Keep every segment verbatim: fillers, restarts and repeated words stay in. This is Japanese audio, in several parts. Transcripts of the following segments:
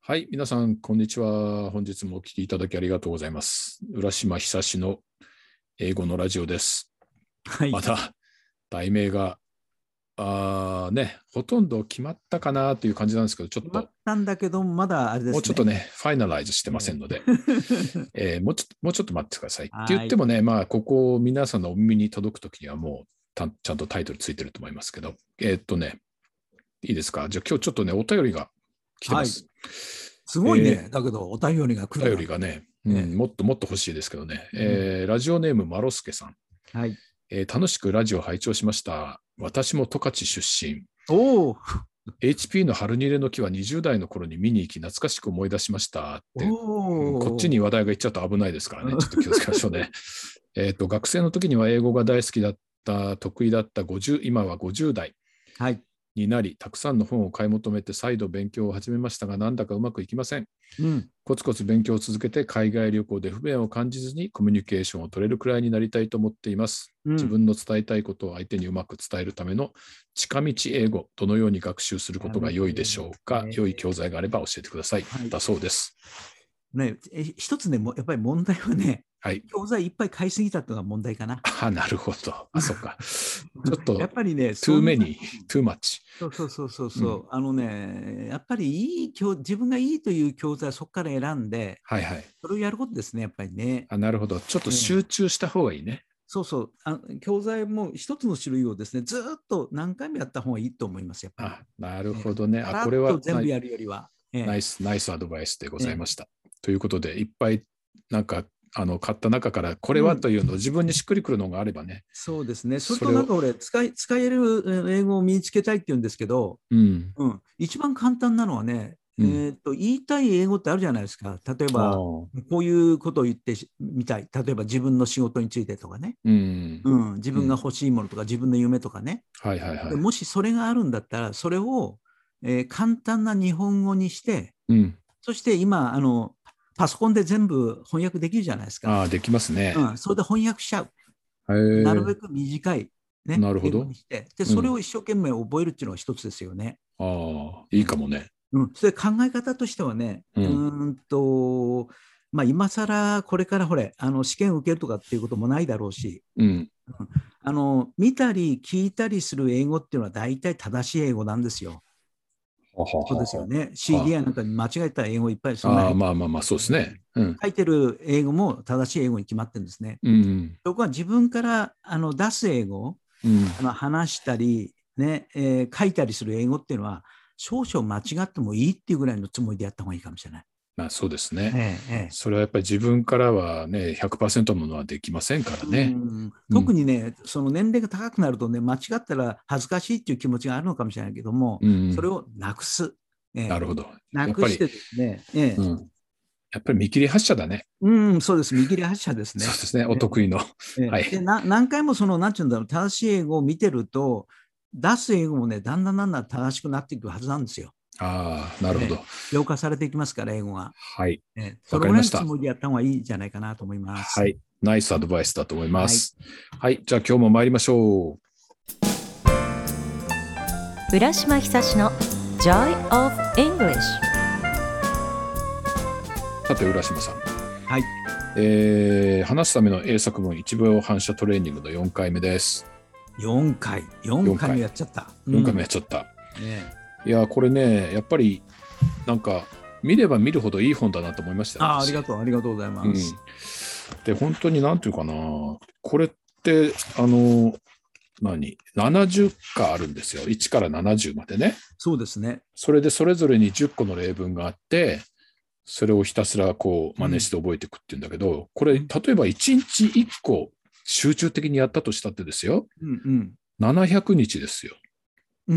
はい、皆さん、こんにちは。本日もお聞きいただきありがとうございます。浦島久志の英語のラジオです。 はい、 まだ題名があ、ね、ほとんど決まったかなという感じなんですけど、ちょっ決まっとたんだけど、まだあれですね。 もうちょっとね、ファイナライズしてませんので、 えええーもうちょっと、もうちょっと待ってください。って言っはい。 てもね、まあ、ここ皆さんのお耳に届くときにはもうたちゃんとタイトルついてると思いますけど、えーっとね、いいですか。じゃあ今日ちょっとね、お便りが来てまはい。 す。 すごいね。 えーだけど、お便りが来お便るなんて。 りがね、うえん、もっともっと欲しいですけどね、 えうん、 えーラジオネームマロスケさん、 はい。 えー楽しくラジオ拝聴しました。私も十勝出身。 おお、 エイチピー の春にれの木はにじゅう代の頃に見に行き懐かしく思い出しましたって、うん、こっちにおお。 話題がいっちゃうと危ないですからね、ちょっと気をつけましょうね。えっと、学生の時には英語が大好きだった、得意だったごじゅう、今はごじゅう代はい。 になり、たくさんの本を買い求めて再度勉強を始めましたが、なんだかうまくいきません。 うん。 コツコツ勉強を続けて海外旅行で不便を感じずにコミュニケーションを取れるくらいになりたいと思っています。 うん。 自分の伝えたいことを相手にうまく伝えるための近道英語、どのように学習することが良いでしょうか。良い教材があれば教えてください。 はい。 だそうです。 ね、え一つね、もやっぱり問題はね、 はい。 教材いっぱい買いすぎたっていうのが問題かな。 あ、なるほど。あ、そっか。ちょっと、 やっぱりね、そ too んな、 many, too much。 そうそうそうそううん。 そう、あのね、やっぱりいい教、自分がいいという教材をそこから選んで、 はいはい。 それをやることですね、やっぱりね。 あ、なるほど。ちょっとええ、 集中した方がいいね。 そうそう、あ、教材も一つの種類をですね、ずーっと何回もやった方がいいと思います、やっぱり。 あ、なるええ、 ほどね。あ、 さらっこれはナイと全部やるよりは。ええ、 ナイス、ナイスアドバイスでごええ、 ざいました。ということで、いっぱいなんかあの買った中からこれうん、 はというのを自分にしっくりくるのがあればね、 そうですね。それそれを、 となんか俺、使い、使えるえ英語を身につけたいって言うんですけど、 うん、 うん、一番簡単なのはね、えうん、 ーと、言いたい英語ってあるじゃないですか。例えあば、 あ、 こういうことを言ってみたい。例えば自分の仕事についてとかね。 うん、 うん、自分がうん、 欲しいものとか自分の夢とかね。 はいはいはい。 でもしそれがあるんだったら、それを、えー簡単な日本語にして、 うん、 そして今、あの、パソコンで全部翻訳できるじゃないですか。 ああ、できますね。 うん、それで翻訳しちゃう。 へえ、 なるべく短い、ね、英語なるほど。 にして。で、 うん、 それを一生懸命覚えるっていうのが一つですよね。 ああ、いいね、 かもね。 うん、それ考え方としてはね、ううん、 ーんと、まあ、今更これからほれ、あの試験受けるとかっていうこともないだろうし、 うん、 うん、あの見たり聞いたりする英語っていうのは大体正しい英語なんですよ。 ははそうですよはね。 は。はシーディーアイ なんかに間違えた英語いっぱいそんなあ、ああ、 入ってる。 まあまあまあ、そうですね。うん、 書いてる英語も正しい英語に決まってるんですね。 うん、 そこは自分からあの出す英語、 うん。 あの話したり、ねえー書いたりする英語っていうのは、少々間違ってもいいっていうぐらいのつもりでやった方がいいかもしれない。 まあそうですね。 ええええ、 それはやっぱり自分からはね、ひゃくパーセントのものはできませんからうね。 ん、 うん。 特にね、その年齢が高くなるとね、間違ったら恥ずかしいっていう気持ちがあるのかもしれないけども、 うん。 それをなくす。ええ、 なるほど。やっぱり、 なくしてですね、ええ、 うん。やっぱり見切り発車だね。 うん、そうです、見切り発車ですね。 そうですね。おええ得意の。 ええ、ではい。 な、何回もその、なんていうんだろう、正しい英語を見てると、出す英語もね、だんだんだんだん正しくなっていくはずなんですよ。 ああ、なるほど。 ええ、浄化されていきますから、英語が。 はい。 ええ、そわのぐらいのつかりました。 もりでやった方がいいんじゃないかなと思います。 はい。ナイスアドバイスだと思いまはい。 す。はい。じゃあ今日も参りましょ浦島久志の Joy of English。 う。さて、浦島さん。 はい。 えー、話すための英作文いちびょう反射トレーニングのよんかいめです。 よんかい、4 4 回も回。 やっちゃった。うよんかいめやん。 っちゃった。 ね、 いや、これね、やっぱり、なんか、見れば見るほどいい本だなと思いましたよ、 ああ、ありが私。 とう、ありがとうございうん。 ます。 で、本当になんていうかな、これって、あの、何 ?ななじゅっ かあるんですよ。いちからななじゅうまでね。 そうですね。 それでそれぞれにじゅっこの例文があって、それをひたすらこううん。 真似して覚えていくっていうんだけど、これ、例うん。 えばいちにちいっこ集中的にやったとしたってですよ。 うん。 ななひゃくにちですよ。 うん。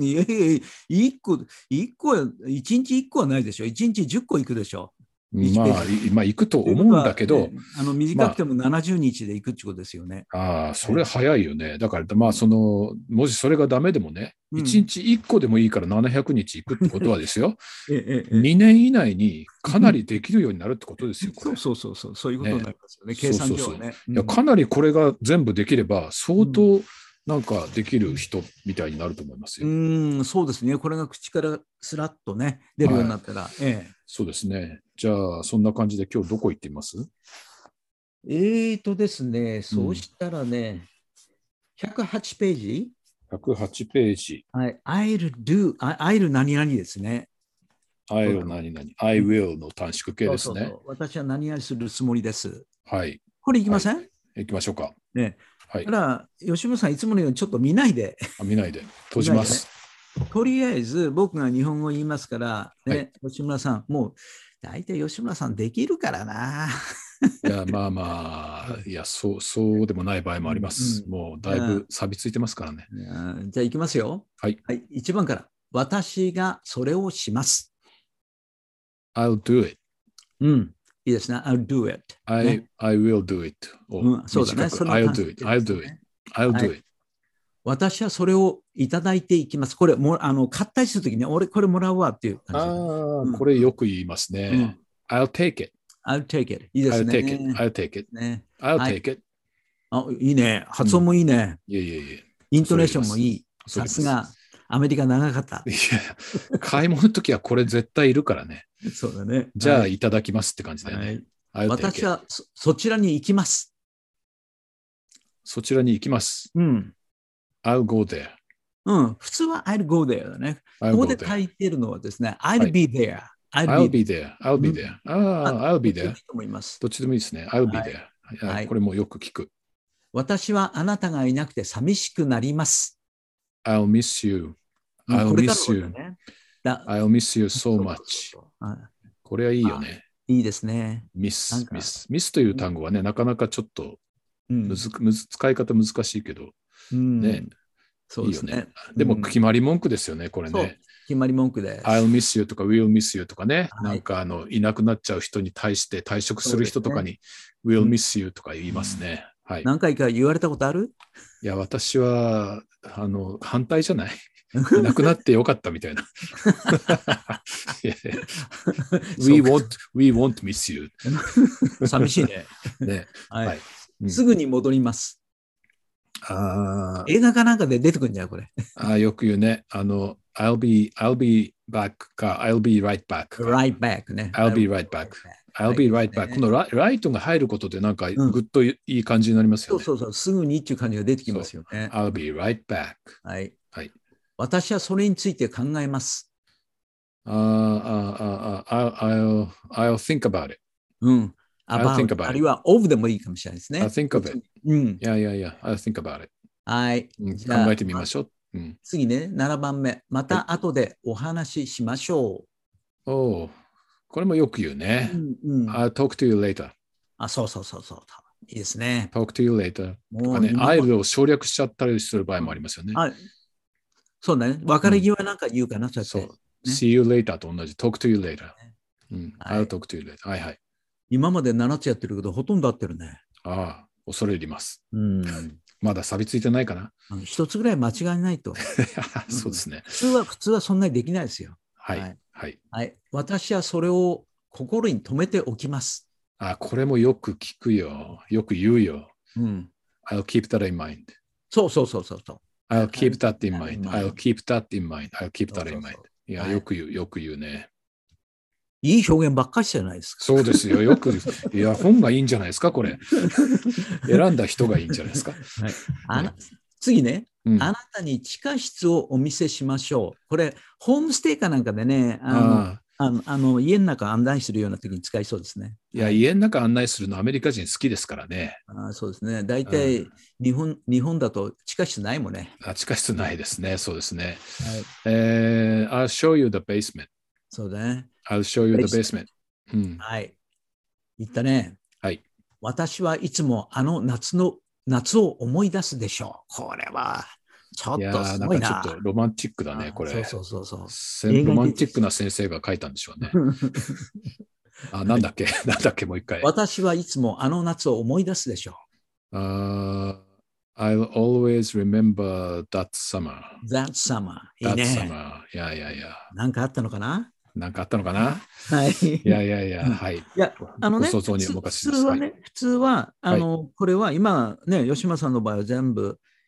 いやいや、いっこ、一個は、いちにちいっこはないでしょ。いちにちじゅっこいくでしょ。いちペーまあ、 ジに。 まあ、行くとという思うんだことは、ね、 けど、 あのまあ、 短くてもななじゅうにちでいくってことですよね。 ああ、それええ、 早いよね。だから、まあ、 うん。 その、もしそれがダメでもね、1 うん。 日いっこでもいいからななひゃくにち行くってことはですよ、 ええ、ええ、 にねん以内にええ。 かなりできるようになるってことですよ、これ。 そうそうそうそう、そういうことにね。 なりますよね。計そうそうそう。い算上はね。うや、 ん。 かなりこれが全部できれば、相うん。 当なんかできる人みたいになると思いますうよ。 ーん、そうですね。これが口からスラッとね、出るようになったら。えそうですね。じゃあ、そんな感じで今日どこ行ってみます？ え。えーとですね、そうしたらね、ひゃくはちページ。 ひゃくはちページ。 はい。I'll do, I- I'll 何々ですね。 I'll 何々。I will の短縮形ですね。 そうそうそう。私は何々するつもりです。 はい。 これいきません、 はい、行きましょうか。 ね。 はい。 ただ、吉村さん、いつものようにちょっと見ないで。 あ、見ないで。閉じます。 ね、とりあえず、僕が日本語言いますから、ね、 はい、 吉村さん、もう、大体吉村さんできるからな。 いや、まあまあ、いや、そう、そうでもない場合もあります。うんうん、もう、だいぶ錆びついてますからね。 じゃあ、いきますよ。 はい。 はい、いちばんから。私がそれをします。 I'll do it. うん。いいですね。I'll do it、ね。 I, I will do it. うん、そうだね。 I'll do it. I'll do it. I'll do it.、はい、 私はそれをいただいていきます。これ、もあの買ったりするときに、俺これもらうわっていう感じ。 ああ、うん、これよく言いますね。うん、I'll take it.I'll take it. いいですね。 I'll take it. I'll take it. ね、I'll take it.、 はい、あ、いいね。発音もいいね。 うん、いやいやいや。 イントネーションもいい。さすが、アメリカ長かった。 いや、買い物のときはこれ絶対いるからね。 そうだね。 じゃあ、いただきますって感じだよね。 はい、私は そ, そちらに行きます。 そちらに行きます。 うん。 I'll go there. うん。普通は I'll go there だね。ここで書いてるのはですね、I'll be there。 I'll be there. I'll be there. ああ、I'll be there. どっちでもいいですね。I'll be there。はい。これもよく聞く。 私はあなたがいなくて寂しくなります。 I'll miss you. I'll miss you. I'll miss you so much. これはいいよね。 いいですね。 ミス、ミス。ミスという単語はね、なかなかちょっとむず、むず使い方難しいけど、ね。 そうですね。 でも決まり文句ですよね、これね。 決まり文句です。 I'll miss you とか Will miss you とかね、なんかあのいなくなっちゃう人に対して退職する人とかに Will miss you とか言いますね。はい。 何回か言われたことある？ いや、私はあの反対じゃない。いなくなってよかったみたいな。we, won't, we won't miss you. 寂しいね。 ね、 はいはいうん、すぐに戻ります。 あ映画かなんかで出てくるんじゃん、これ。 あよく言うね。あの、I'll be, I'll be back か、I'll be right back か。 right back ね。 I'll be right back。I'll be right back。このライトが入ることでなんかぐっといい感じになりますよね。 そうそうそう、すぐにっていう感じが出てきますよね。 I'll be right back。 はい。 はい。 私はそれについて考えます。 ああ、ああ、I'll, I'll think about it. うん。 I'll think about it. あるいは of でもいいかもしれないですね。 I'll think of it. うん。 いやいやいや、I'll think about it. はい。 考えてみましょう。うん、 次ね、ななばんめ。また後でお話ししましょう。おお、これもよく言うね。 うんうん、 I'll talk to you later. あ、そうそうそうそう。いいですね。 talk to you later. とかね、I'll を省略しちゃったりする場合もありますよね。 あそうだね。別れ際なんか言うかな、うん、そうやって。 そう。see you later と同じ。talk to you later。うん。I'll talk to you later。はいはい。 今までななつやってるけど、ほとんど合ってるね。 ああ、恐れ入ります。 うん。 まだ錆びついてないかな。 一つぐらい間違いないと。 そうですね、 うん。普通は、普通はそんなにできないですよ。 はい。はい。はいはい、私はそれを心に留めておきます。 あ、これもよく聞くよ。よく言うよ。 うん。 I'll keep that in mind。 そうそうそうそう。 I'll keep that in mind. I'll keep that in mind. I'll keep that in mind. いや、よく言う、よく言うね。 いい表現ばっかりじゃないですか。 そうですよ。よく、いや、本がいいんじゃないですか、これ。選んだ人がいいんじゃないですか。 はい、あな次ね、うん、あなたに地下室をお見せしましょう。これ、ホームステイかなんかでね、あのああのあの家の中案内するような時に使いそうですね。 いや、家の中案内するのアメリカ人好きですからね。 あそうですね。大体日本、うん、日本だと地下室ないもんね。 あ地下室ないですね。そうですね。はいえー、I'll show you the basement. そうだね。 I'll show you the basement. うん、はい。言ったね。 はい。 私はいつもあの夏の夏を思い出すでしょう。これはちょっとすごいな。 なんかちょっとロマンチックだね、これ。 そうそうそうそう。 ロマンチックな先生が書いたんでしょうね。あ、なんだっけなんだっけもう一回。 私はいつもあの夏を思い出すでしょう。Uh, I'll always remember that summer. That summer. いいね。 That summer. いやいやいや。 なんかあったのかななんかあったのかなはい。 いやいやいや、はい。いや、あのね、 想像にお任せします。 普通はね、普通は、あの、これは今ね、吉間さんの場合は全部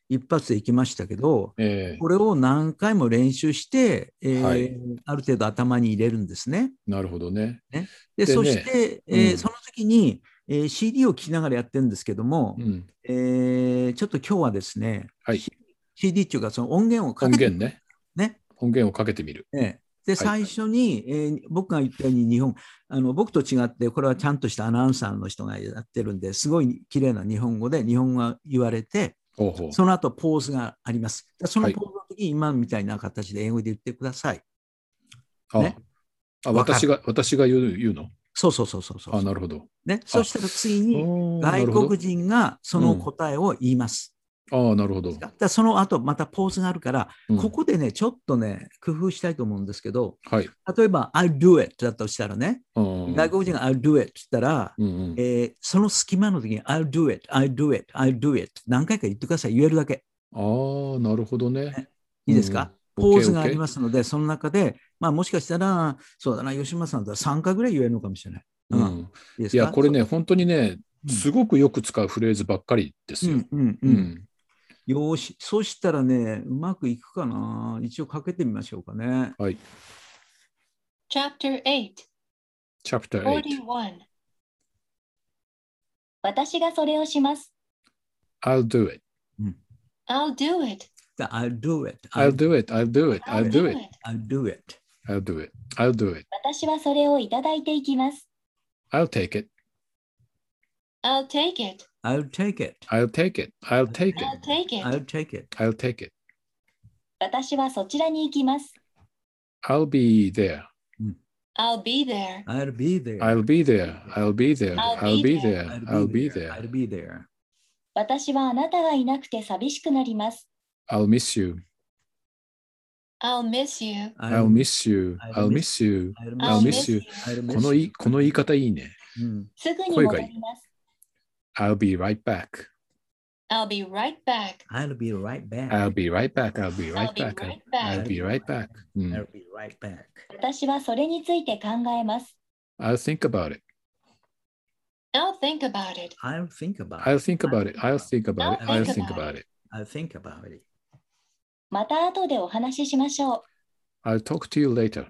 一発でいきましたけど、 えー、 これを何回も練習して、えーはい、 ある程度頭に入れるんですね。 なるほどね。 ねで、 でね、 そして、えーうんその時に、えー シーディー を聴きながらやってるんですけども、 うん、 えーちょっと今日はですね、 はい、 シーディー っていうかその音源をかけて音源ね。 ね。 音源をかけてみる。 ええで、 はい、 最初に、えー僕が言ったように日本、あの僕と違って、これはちゃんとしたアナウンサーの人がやってるんで、すごい綺麗な日本語で日本語が言われて、 ほうほう。 その後ポーズがあります。そのはい。 ポーズの時に今みたいな形で英語で言ってください。 あ、 ね。 あ、 わかる。 私が、私が言う、言うのそうそうそうそうそうあ、 そう。 なるほど。 ね。そあ、 したら次におーな外るほど。 国人がその答えを言います。 ああ、なるほど。 だからその後またポーズがあるから、 うんここでね、ちょっとね、工夫したいと思うんですけど、 はい。 例えば、I'll do it だとしたらね、 うん外国人が I'll do it って言ったら、 うんうんえーその隙間の時に I'll do it, I'll do it, I'll do it 何回か言ってください。言えるだけ。 ああ、なるほどね。 ねいいですか、 うんうん、 ポーズがあ OK り OK ますので、その中で、まあもしかしたら、そうだな、吉村さんだったらさんかいぐらい言えるのかもしれない。うん。 うん、 いいですいや、 かこれね、本当にね、 うんすごくよく使うフレーズばっかりですよ。 うんうんう。 うんん。 よーし、そうしたらね、うまくいくかな。一応かけてみましょうかね。 はい。 Chapter eight, Chapter eight. forty-one. 私がそれをします。 I'll do it. I'll do it. I'll do it. I'll do it. I'll do it. I'll do it. I'll do it. I'll do it. I'll do it. 私はそれをいただいていきます。 I'll take it. I'll take it. I'll take it. I'll take it. I'll take I'll it. take it. I'll take it. I'll take it. 私はそちらに行きます。 I'll be there. I'll be there. I'll be there. I'll be there. I'll be there. I'll I'll be be there. I'll be there. I'll be there. 私はあなたがいなくて寂しくなります。 I'll miss you. I'll miss you. I'll miss you. I'll miss you. I'll miss you. このいこの言い方いいね。 うんすぐに戻ります。 I'll be right back. I'll be right back. I'll be right back. I'll be right back. I'll be right I'll be back. right I'll back. be right back. うん I'll be right back. 私はそれについて考えます。 I'll think about it. I'll think about it. I'll think about I'll it. think about it. I'll think about it. I'll think about it. I'll think about it. また後でお話ししましょう。 I'll talk to you later.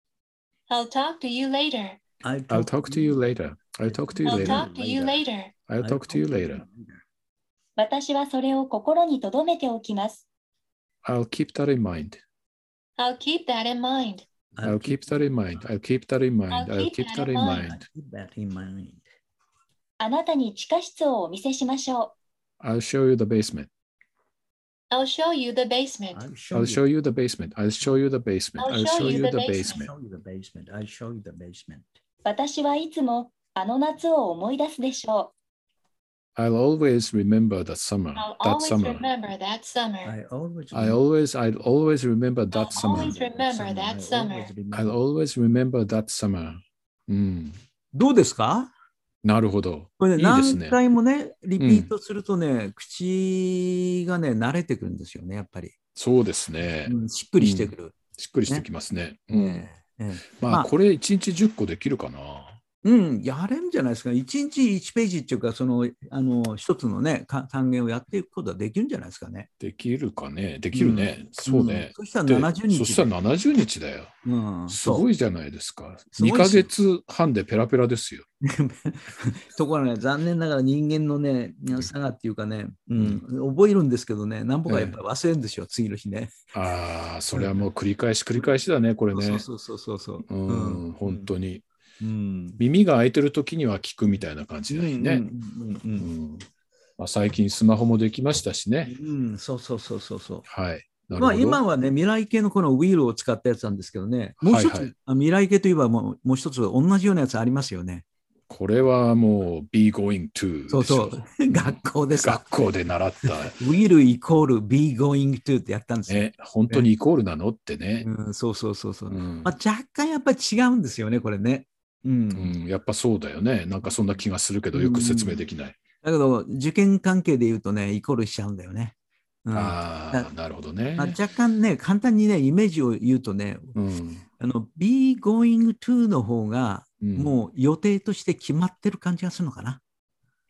I'll talk to you later. I'll I'll talk to you later. I'll talk to you I'll later. talk to you later. I'll talk to you later. 私はそれを心に留めておきます。 I'll keep that in mind. I'll keep that in mind. I'll keep that in mind. I'll keep that in mind. I'll I'll keep keep that that in in mind. mind. keep that in mind. あなたに地下室をお見せしましょ I'll show you the basement. I'll show you the basement. I'll I'll show you the basement. I'll show you the basement. I'll I'll show show you you the the basement. basement. show you the basement. I'll show you the basement. う。私はいつもあの夏を思い出すでしょ I'll always remember that summer. I'll That always summer. remember that summer. I always I always, I'll always remember that I'll summer. always remember that summer. I'll always remember that summer. うん。 どうですかなるほど。 これね、 いいですね。 何回もね、リピートするとね、口がね、慣れてくるんですよね、やっぱり。 そうですね。 うんしっくりしてくる。 しっくりしてきますね。うん。 ええええまあ、 まあこれいちにちじゅっこできるかな。 うん、やれんじゃないですか。いちにちいちページっていうか、その、あの、一つのね、か単元をやっていくことはできるんじゃないですかね。 できるかね。できるね。そうねん。そしたらでななじゅうにちで。 そしたらななじゅうにちだよ。 うん、 すごい。 いじゃないですか。 すごいしにかげつはんでペラペラですよ。 ところがね、残念ながら人間のね、差がっていうかね、うん、覚えるんですけどね、何歩かやっぱり忘れるんですよ、次の日ね。 ああ、それはもう繰り返し繰り返しだね、これね。 そうそうそうそうそう。 うん、本当に。 うん。 耳が開いてる時には聞くみたいな感じだよね。 うんうんうんうんまあ、最近スマホもできましたしね。 うんうん、そうそうそうそうそう。 はい。なるまあ、 ほど。 今はね、未来系のこのウィールを使ったやつなんですけどね、もう一つ、 はいはいあ未来系といえばもうもう一つ同じようなやつありますよね。 これはもう be going to そうそでしょう。学校でさ、 学校で習った。 will イコール be going to ってやったんですよ。 ね、本当にイコールなのってね。 うん、そうそうそうそう。 うんまあ、若干やっぱり違うんですよね、これね。うん。 うん、やっぱそうだよね。なんかそんな気がするけど、よく説明できない。 だけど、受験関係で言うとね、イコールしちゃうんだよね。うんああ、なるほどね。 まあ、若干ね、簡単にね、イメージを言うとね、 うんあの、be going to の方が、 うんもう予定として決まってる感じがするのかな。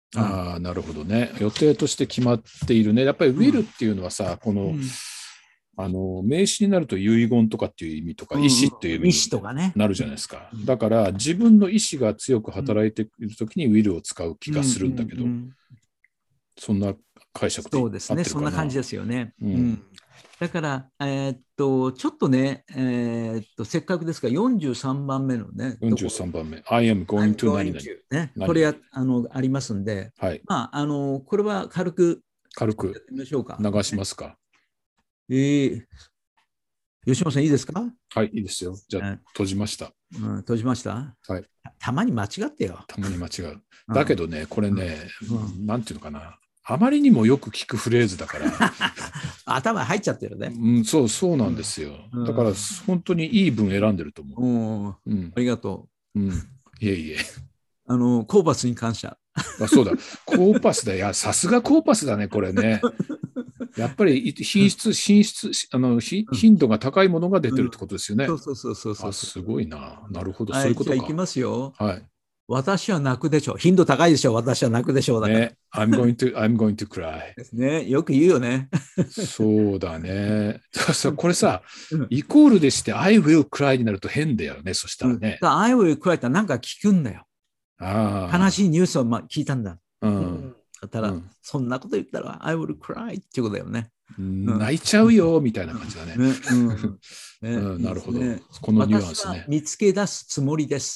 ああ、なるほどね。予定として決まっているね。やっぱり will っていうのはさ、この、 うんあの名詞になると遺言とかっていう意味とか、意思っていう意味になるじゃないですか。だから自分の意思が強く働いているときに will を使う気がするんだけど、そんな解釈で合ってるかな。 そうですね、そんな感じですよね。 うんうん、だから、えー、っと、ちょっとね、えー、っと、せっかくですからよんじゅうさんばんめのね、 よんじゅうさんばんめ、I am going to 何々。 ね、これやあのありますんで、 はい、 まあ、あの、これは軽く軽くやってみましょうか。 流しますか。 えー、吉本さん、いいですか？ はい、いいですよ。じゃあ、閉じました。 うん、閉じました。 はい。 たまに間違ってよ。 たまに間違う。だけどね、これね、うん、なんていうのかな。あまりにもよく聞くフレーズだから。 頭入っちゃってるね。 うん、そう、そうなんですよ。うん、だから、本当にいい文選んでると思う。うん、ありがとう。うん。いえいえ。 あの、コーパスに感謝。 あ、そうだ。コーパスだ。いや、さすがコーパスだね、これね。やっぱり品質、品質、あの、頻度が高いものが出てるってことですよね。 うん、そうそうそうそう。 すごいな。なるほど。 はい、 そういうことか。 じゃあ、いきますよ。 はい。 私は泣くでしょう。頻度高いでしょう。私は泣くでしょう。だから。 ね。I'm going to, I'm going to cry. ですね。よく言うよね。 そうだね。これさ、イコールでして I will cry になると変だよね。そしたらね。 うん、I will cry ってなんか聞くんだよ。 あ悲しいニュースを聞いたんだ。 うん。 だったら、うん、そんなこと言ったら I will cry っていうことだよね。 泣いちゃうよみたいな感じだね。 ねうんねうん、なるほど、ね。このニュアンスね。 見つけ出すつもりです。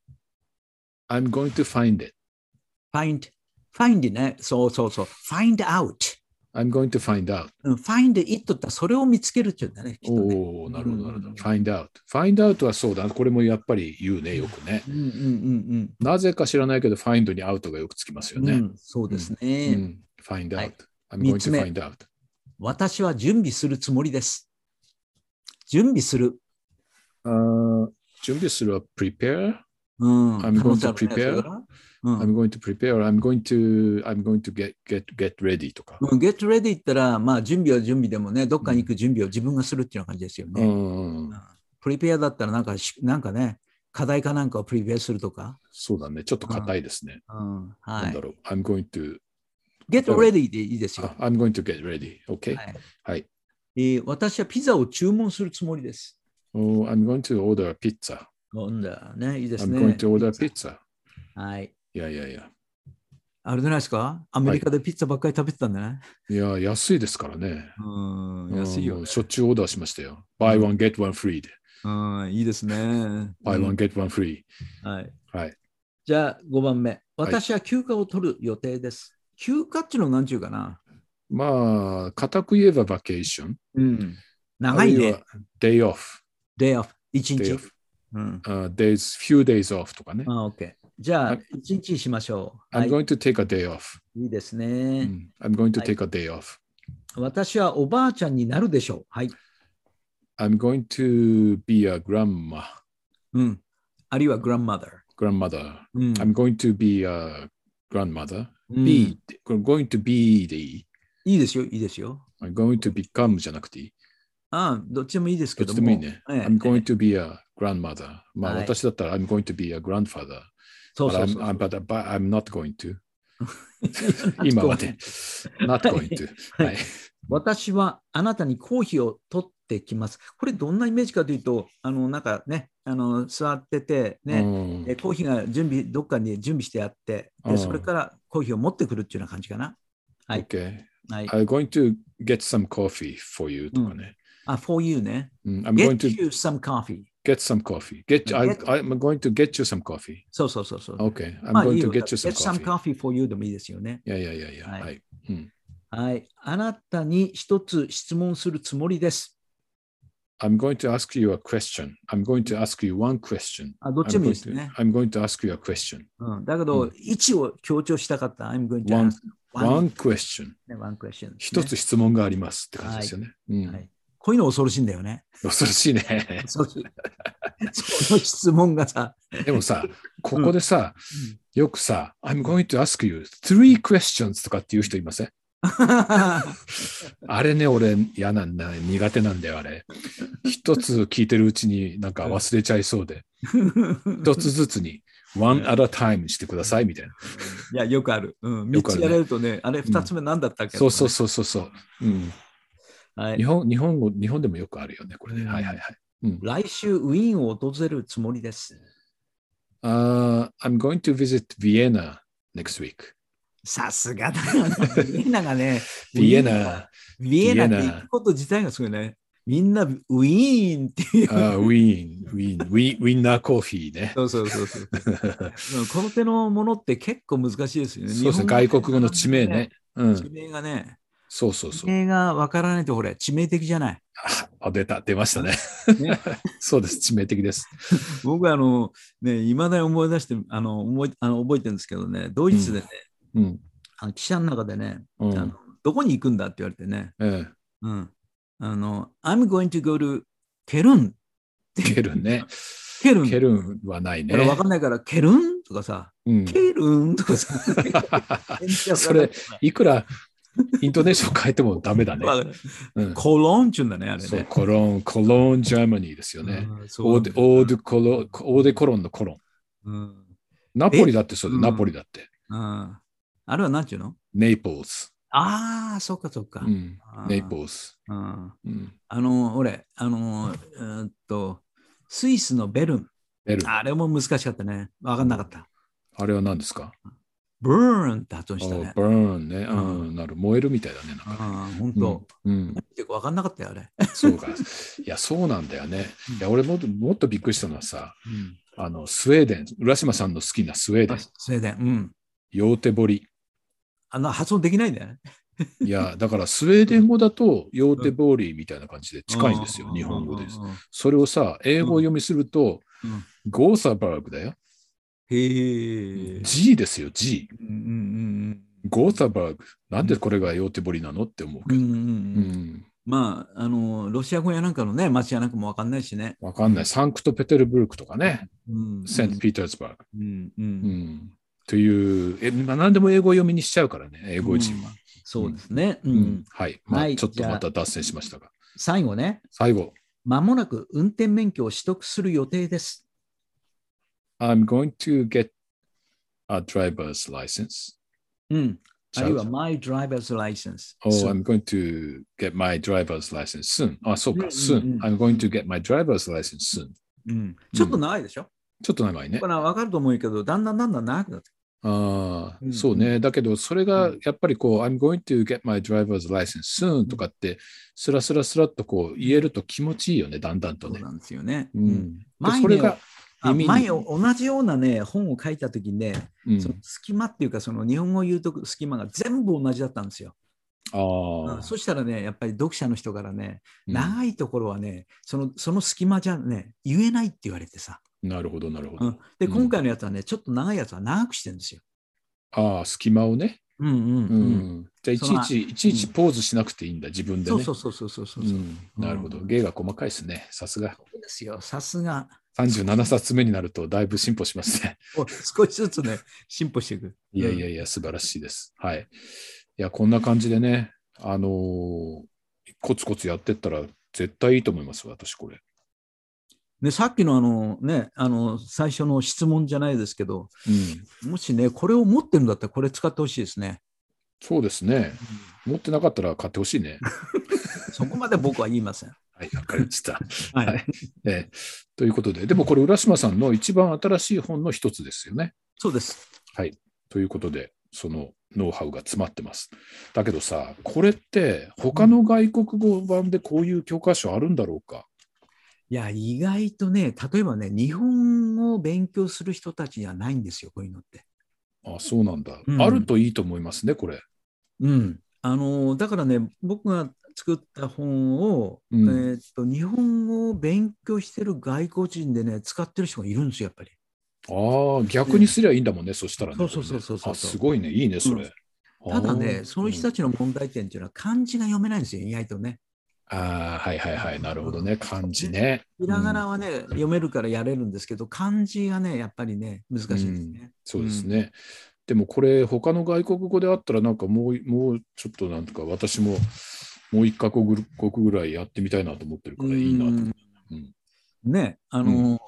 I'm going to find it. find, find ね。そうそうそう。find out. I'm going to find out. find it ってそれを見つけるっていうんだね。 おお、なるほど、なるほど。find out. find out はそうだ。これもやっぱり言うね、よくね。 うんうんうんうん、 なぜか知らないけど、find に out がよくつきますよね。うん、 そうですね。 うん、find out.、はい、I'm going to find out. 私は準備するつもりです。準備する。 Uh, 準備するは prepare?、 うん、 I'm going to prepare?、I'm going to prepare, I'm going to, I'm going to get, get, get ready とか。 get ready って言ったら、まあ準備は準備でもね、どっかに行く準備を自分がするっていうような感じですよね。 うん、 prepare だったらなんか、なんかね、課題かなんかを prepare するとか。 そうだね、ちょっと硬いですね。 うんはい、 なんだろう、I'm going to get ready でいいですよ。 I'm going to get ready, OK? はい。 はいえー、私はピザを注文するつもりです。 Oh, I'm going to order a pizza. なんだね、いいですね。 I'm going to order a pizza. はい。 いやいやいや。 あれじゃないですか？アメリカでピッツァばっかり食べてたんだね。 いや、安いですからね。 うん、安いよ、ね。 しょっちゅうオーダーしましたよ。buy one, get one free で。 うん、いいですね。 buy one, get one free。 はい。 はい。 じゃあごばんめ。私は休暇を取る予定です。はい、休暇っていうのは何ちゅうかな。 まあ、固く言えばバケーション。 うん。長いね。 day off。 day off。一日。 うん。Uh, days, few days off とかね。 あ、OK。じゃあ、一日しましょう。I'm going to take a day off. いいですね。 うん、I'm going to take a day off. 私はおばあちゃんになるでしょう。はい。 I'm going to be a grandma. うん。あるいは grandmother. grandmother. うん、 I'm going to be a grandmother. うん、be, going to be でいい？ いいですよ、いいですよ。 I'm going to become じゃなくていい？ ああ、どっちでもいいですけども。 どっちでもいいね。 ええ、 I'm going to be a grandmother. まあ、はい、私だったら I'm going to be a grandfather. そうそうそう。 But I'm, but, but I'm not going to. 今はね、not going to 。はい。 私はあなたにコーヒーを取ってきます。これどんなイメージかというと、あの、なんかね、あの座ってて、ね、うん、コーヒーが準備、どっかに準備してあって、でそれからコーヒーを持ってくるっていうような感じかな。はい。 Okay. はい、 I'm going to get some coffee for you とかね。 うん、あ、for you ね。 Mm, I'm get going to you some coffee. Get some coffee. Get, get I, I'm going to get you some coffee. そうそうそうそう。 Okay. I'm まあ、 going いい to よ get you some get some coffee. coffee for you でもいいですよね。 いやいやいやいや。はい。はいうん、 はい。あなたに一つ質問するつもりです。 I'm going to ask you a question. I'm going to ask you one question. あ、どっちでもいいですね。 I'm going to ask you a question. うん、だけど、うん、位置を強調したかった。I'm going to one, ask one, one question. One question、ね。 一つ質問がありますって感じですよね。 はいうんはい、こういうの恐ろしいんだよね。 恐ろしいね。 恐ろしい。その質問がさ。 でもさ、ここでさ、うん、よくさ、I'm going to ask you three questions とかっていう人いませんあれね、俺嫌なんだ、苦手なんだよ、あれ。一つ聞いてるうちになんか忘れちゃいそうで。一つずつに one at a time してくださいみたいな。 いや、よくある。うん、みっつやれるとね、あれふたつめなんだったっけ、 そうそうそうそうそう。うん。 はい、 日本、日本語、日本でもよくあるよね、これね。うん、はいはいはい。 うん、来週、ウィーンを訪れるつもりです。 Uh, I'm going to visit Vienna next week. さすがだよな。ビエナがね、 ビエナ。 ビエナって行くこと自体がすごいね。みんなウィーンっていう。 あウィーン、ウィーン、ウィウィンナーコーヒーね。 そうそうそうそう。この手のものって結構難しいですよね。 そうですね、外国語の地名ね。 うん、地名がね。 そうそうそう。 地名がわからないと、これ、致命的じゃない。 あ、出た、出ましたね。ねそうです、致命的です。 僕はあの、ね、いまだに思い出して、あの、思いあの覚えてるんですけどね、ドイツでね、うんうん、あの記者の中でね、うん、あの、どこに行くんだって言われてね、ええうん、あの、I'm going to go to ケルンって。 ケルンね。 ケルン。 ケルンはないね。 わかんないから、ケルンとかさ、うん、ケルンとかさ。 それ、いくら、イントネーション変えてもダメだね。 うん、コロンチュンだね、あれね。 そう、コロン、コロン、ジャーマニーですよね。オーデ、オーデコロ、オーデコロンのコロン。うん、ナポリだってそうで、ナポリだって。 うん、あれは何ていうの？ ネイポーズ。 ああ、そっかそっか。うん、 ネイポーズ。 うん、あの、俺、あの、えー、っと、スイスのベルン。ベルン。あれも難しかったね。わかんなかった。 あれは何ですか？ ブーンって発音したね。 ブーンね。うん、なる。燃えるみたいだね。なんかね。本当。うん。結構分かんなかったよ、あれ。 そうか。いや、そうなんだよね。いや、俺ももっとびっくりしたのはさ、あの、スウェーデン、浦島さんの好きなスウェーデン。 スウェーデン。うん。 ヨーテボリ。 あの、発音できないんだよね。 いや、だからスウェーデン語だと、ヨーテボリみたいな感じで近いんですよ、日本語です。それをさ、英語読みすると、ゴーサバーグだよ。 へえ。 G ですよ、G。うんうんうん、ゴーサバーグ。なんでこれがヨーテボリなのって思うけど。うんうんうん、 まあ、あの、ロシア語やなんかのね、町やなんかもわかんないしね。 わかんない。サンクトペテルブルクとかね。うんうん、セントピーターズバーグ。うんうんうん、という、え、まあ、何でも英語読みにしちゃうからね、英語人は。うん、 そうですね。 うんうん、はい。まあ、はい、ちょっとまた脱線しましたが。 最後ね。 最後。 まもなく運転免許を取得する予定です。 I'm going to get a driver's license. うん。あるいは my driver's license. Oh, I'm going to get my driver's license soon. あ、そうか、soon. I'm going to get my driver's license soon. うん。ちょっと長いでしょ？ ちょっと長いね。 これは分かると思うけど、だんだんだんだん長くなって。 ああ、そうね。だけど、それがやっぱりこう、I'm going to get my driver's license soon とかって、スラスラスラっとこう言えると気持ちいいよね、だんだんとね。 そうなんですよね。 うん。で、それが、 前同じようなね本を書いた時にね、うん、その隙間っていうかその日本語を言うと隙間が全部同じだったんですよ。あ、うん、そしたらねやっぱり読者の人からね、うん、長いところはねそのその隙間じゃね言えないって言われてさ。 なるほどなるほど。うん、 で今回のやつはねちょっと長いやつは長くしてるんですよ。 ああ隙間をね。 うんうんうん。うん、 じゃあいちいちいちいちポーズしなくていいんだ、自分でね。 そうそうそうそうそうそう、うん、 なるほど。芸が細かいですね。さすが。 そうですよ。さすが。 さんじゅうななさつめになるとだいぶ進歩しますね。 少しずつね、進歩していく。 いやいやいや、素晴らしいです。はい。いや、こんな感じでね、あのー、コツコツやってったら絶対いいと思います、私、これ。 ね、さっきのあのね、あの最初の質問じゃないですけど、うん、もしね、これを持ってるんだったらこれ使ってほしいですね。 そうですね。うん、持ってなかったら買ってほしいね。 そこまで僕は言いません。 はい、わかりました。はい、えー。ということで、でもこれ、浦島さんの一番新しい本の一つですよね。 そうです。 はい。ということで、そのノウハウが詰まってます。だけどさ、これって、他の外国語版でこういう教科書あるんだろうか？ いや、意外とね、例えばね、日本語を勉強する人たちにはないんですよ、こういうのって。 あ、そうなんだ。うん、あるといいと思いますね、これ。 うん。あの、だからね、僕が作った本を、うん、えー、っと日本語を勉強してる外国人でね使ってる人がいるんですよやっぱり。 ああ、逆にすりゃいいんだもんね、ね、そしたらね。 そうそうそうそうそう。 あ、すごいね、いいねそれ。 うん、ただね、その人たちの問題点っていうのは漢字が読めないんですよ、意外とね。 ああ、はいはいはい、なるほどね、漢字ね。 ひらがなはね、うん、読めるからやれるんですけど、漢字がね、やっぱりね、難しいですね。うん、 そうですね。うん、でもこれ、他の外国語であったら、なんかもう、もうちょっとなんとか、私ももう一カ国ぐらいやってみたいなと思ってるからいいなと思う。 うん、ね、あの、うん、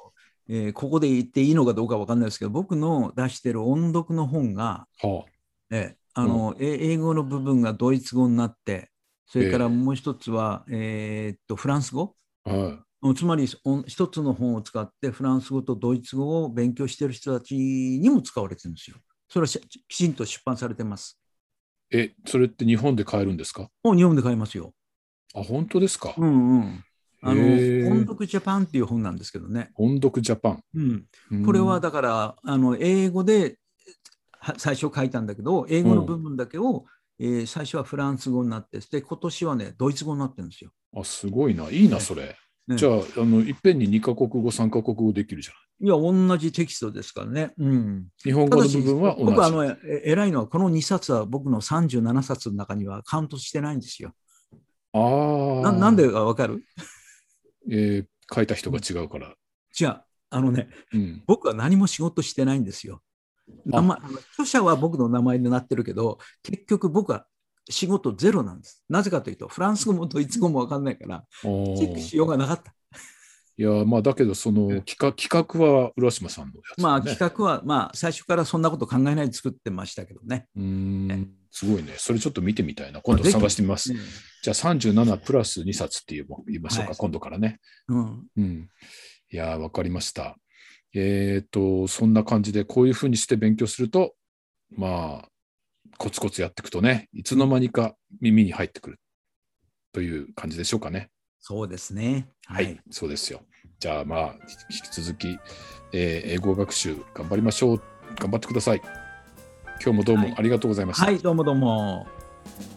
えー、ここで言っていいのかどうか分かんないですけど、僕の出してる音読の本が、 はあえーあのうん、英語の部分がドイツ語になって、それからもう一つは、えー、っとフランス語、 はい、 つまり一つの本を使ってフランス語とドイツ語を勉強している人たちにも使われてるんですよ。それはきちんと出版されてます。 え、それって日本で買えるんですか？ 日本で買えますよ。 あ、本当ですか？ うんうん。あの音読ジャパンっていう本なんですけどね。 音読ジャパン。 うん、これはだからあの英語で最初書いたんだけど、英語の部分だけを、うんえー、最初はフランス語になって、で今年はねドイツ語になってるんですよ。 あ、すごいな、いいなそれ。ね、じゃあ、あのいっぺんににカ国語さんカ国語できるじゃない。 いや同じテキストですからね。うん、 日本語の部分は同じ。 僕はあの偉いのはこのにさつは僕のさんじゅうななさつの中にはカウントしてないんですよ。 ああ。 な, なんでかわかる？ えー、書いた人が違うから。 じゃあ、あのね、うん、僕は何も仕事してないんですよ。名前著者は僕の名前になってるけど、結局僕は仕事ゼロなんです。なぜかというと、フランス語もドイツ語も分かんないから、チェックしようがなかった。 いや、まあ、だけど、その企画、企画は浦島さんのやつ、ね。 まあ、企画は、まあ、最初からそんなこと考えないで作ってましたけどね。 うーん、ね、すごいね。それちょっと見てみたいな。今度探してみます。ね、じゃあ、さんじゅうななプラスにさつって言いましょうか、はい、今度からね。うん。うん、いや、わかりました。えっと、そんな感じで、こういうふうにして勉強すると、まあ、コツコツやっていくとね、いつの間にか耳に入ってくるという感じでしょうかね。 そうですね。 はい、はい、そうですよ。じゃあ、まあ、引き続き、えー、英語学習頑張りましょう。頑張ってください。今日もどうもありがとうございました。 はい、はい、どうもどうも。